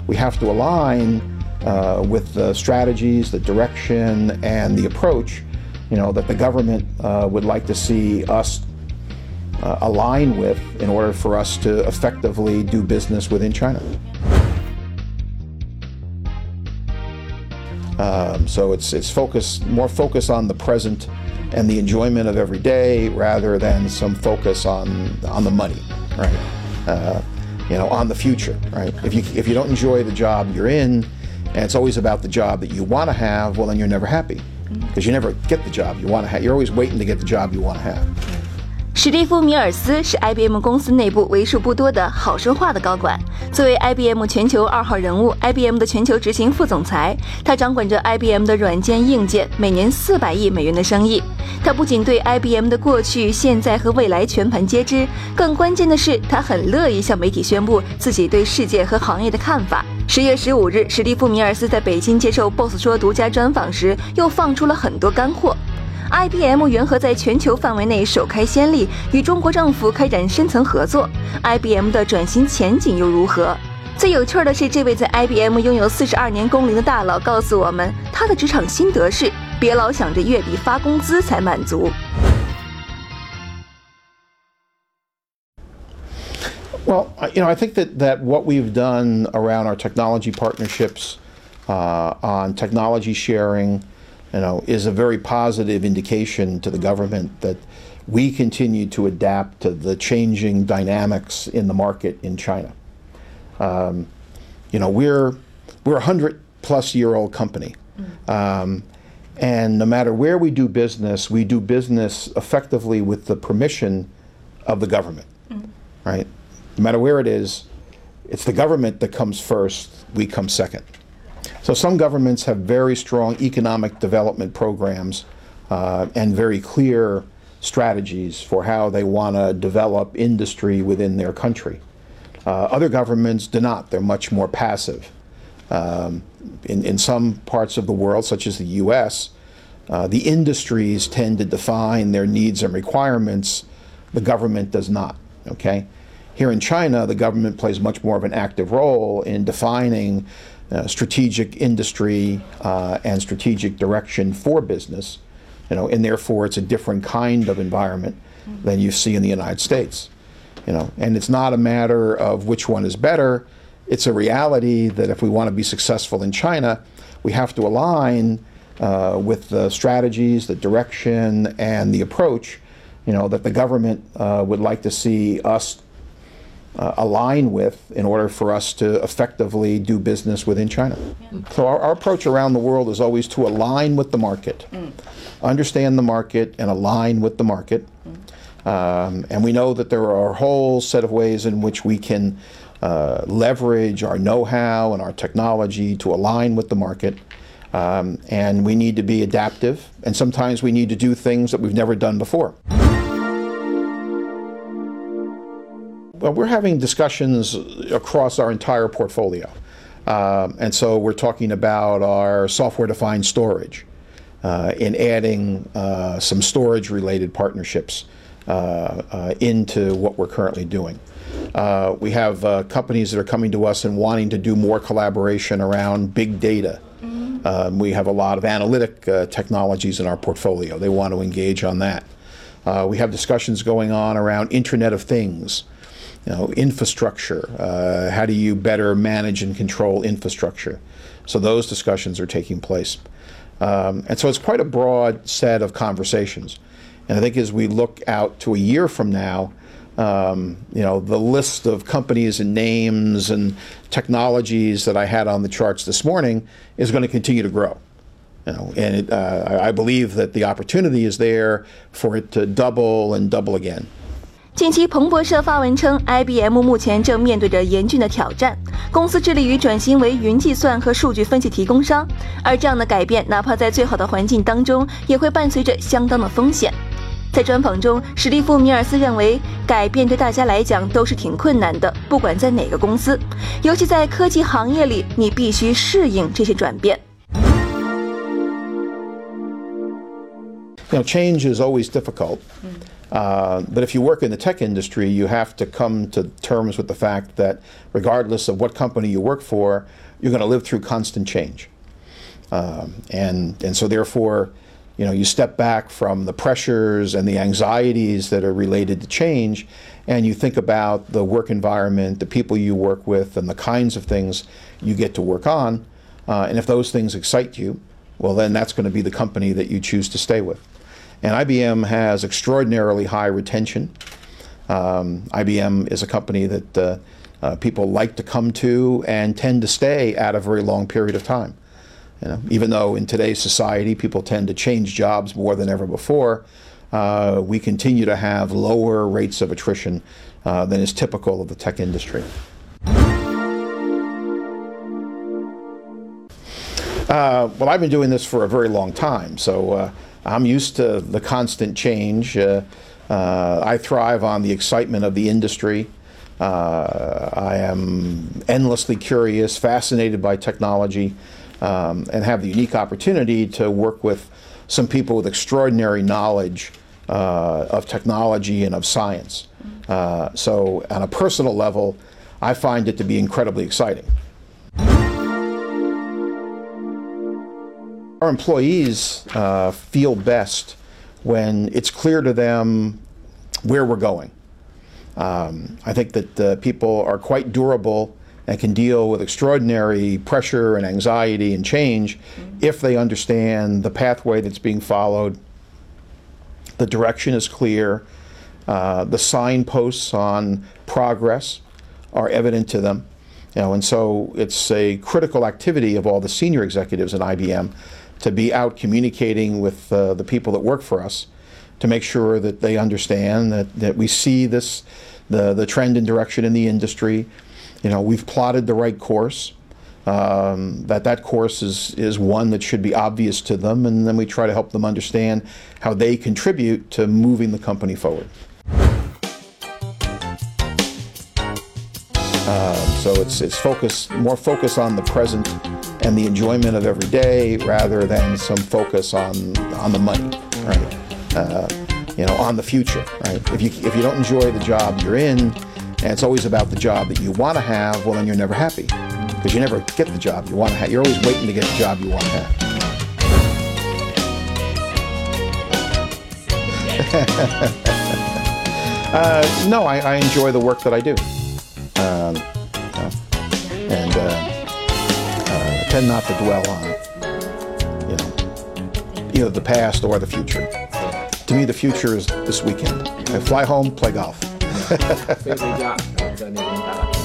we have to align with the strategies, the direction, and the approach, that the government would like to see us align with in order for us to effectively do business within China. So it's more focus on the present and the enjoyment of every day rather than some focus on the money, right? On the future, right? If you don't enjoy the job you're in, and it's always about the job that you want to have, well, then you're never happy because you never get the job you want to have. You're always waiting to get the job you want to have. 史蒂夫·米尔斯是 IBM 公司内部为数不多的好说话的高管。作为 IBM 全球2号人物 ，IBM 的全球执行副总裁，他掌管着 IBM 的软件、硬件，每年400亿美元的生意。他不仅对 IBM 的过去、现在和未来全盘皆知，更关键的是，他很乐意向媒体宣布自己对世界和行业的看法。10月15日，史蒂夫·米尔斯在北京接受 BOSS 说独家专访时，又放出了很多干货。IBM 缘何在全球范围内首开先例，与中国政府开展深层合作 ？IBM 的转型前景又如何？最有趣的是，这位在 IBM 拥有42年工龄的大佬告诉我们，他的职场心得是：别老想着月底发工资才满足。 Well, I think that what we've done around our technology partnerships, on technology sharing, is a very positive indication to the government that we continue to adapt to the changing dynamics in the market in China. We're a 100-plus-year-old company, and no matter where we do business effectively with the permission of the government, right? No matter where it is, it's the government that comes first, we come second. So some governments have very strong economic development programs and very clear strategies for how they want to develop industry within their country. Other governments do not. They're much more passive. In some parts of the world, such as the U.S., the industries tend to define their needs and requirements. The government does not. Okay? Here in China, the government plays much more of an active role in defining strategic industry and strategic direction for business, and therefore it's a different kind of environment than you see in the United States. And it's not a matter of which one is better. It's a reality that if we want to be successful in China, we have to align with the strategies, the direction, and the approach, that the government would like to see us align with in order for us to effectively do business within China. Yeah. So our approach around the world is always to align with the market, understand the market and align with the market. And we know that there are a whole set of ways in which we can leverage our know-how and our technology to align with the market. And we need to be adaptive, and sometimes we need to do things that we've never done before. Well, we're having discussions across our entire portfolio. And so we're talking about our software-defined storage in adding some storage-related partnerships into what we're currently doing. We have companies that are coming to us and wanting to do more collaboration around big data. We have a lot of analytic technologies in our portfolio. They want to engage on that. We have discussions going on around Internet of Things. Infrastructure, how do you better manage and control infrastructure? So those discussions are taking place. And so it's quite a broad set of conversations. And I think as we look out to a year from now, the list of companies and names and technologies that I had on the charts this morning is going to continue to grow. And I believe that the opportunity is there for it to double and double again. 近期，彭博社发文称 ，IBM 目前正面对着严峻的挑战，公司致力于转型为云计算和数据分析提供商，而这样的改变，哪怕在最好的环境当中，也会伴随着相当的风险。在专访中，史蒂夫·米尔斯认为，改变对大家来讲都是挺困难的，不管在哪个公司，尤其在科技行业里，你必须适应这些转变。 Change is always difficult. But if you work in the tech industry, you have to come to terms with the fact that regardless of what company you work for, you're going to live through constant change. And so therefore, you step back from the pressures and the anxieties that are related to change, and you think about the work environment, the people you work with, and the kinds of things you get to work on. And if those things excite you, well, then that's going to be the company that you choose to stay with. And IBM has extraordinarily high retention. IBM is a company that people like to come to and tend to stay at a very long period of time. Even though in today's society people tend to change jobs more than ever before, we continue to have lower rates of attrition than is typical of the tech industry. Well, I've been doing this for a very long time, so I'm used to the constant change. I thrive on the excitement of the industry. I am endlessly curious, fascinated by technology, and have the unique opportunity to work with some people with extraordinary knowledge of technology and of science. So on a personal level, I find it to be incredibly exciting. Our employees feel best when it's clear to them where we're going. I think that people are quite durable and can deal with extraordinary pressure and anxiety and change if they understand the pathway that's being followed, the direction is clear, the signposts on progress are evident to them. And so it's a critical activity of all the senior executives at IBM to be out communicating with the people that work for us to make sure that they understand that we see this, the trend and direction in the industry. We've plotted the right course, that course is one that should be obvious to them, and then we try to help them understand how they contribute to moving the company forward. So it's more focus on the present and the enjoyment of every day rather than some focus on the money, right? On the future, right? If you don't enjoy the job you're in, and it's always about the job that you want to have, well, then you're never happy because you never get the job you want to have. You're always waiting to get the job you want to have. No, I enjoy the work that I do. And tend not to dwell on, either the past or the future. To me, the future is this weekend. I fly home, play golf. 飞回家，然后在那边打打。